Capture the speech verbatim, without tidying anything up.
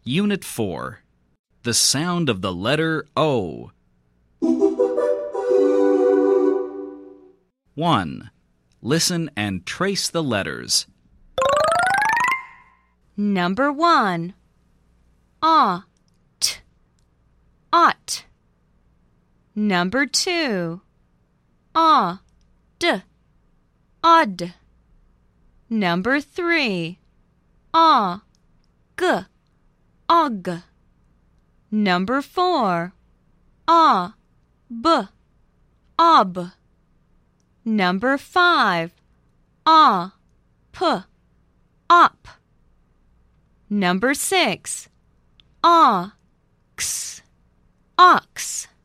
Unit four. The sound of the letter O. one. Listen and trace the letters. Number one. Ah, t, ought. Number two. Ah, d, odd. Number three. Ah, g, og. Number four. Ah, b, ob. Number five. Ah, p, op. Number six. Ah, x, ox.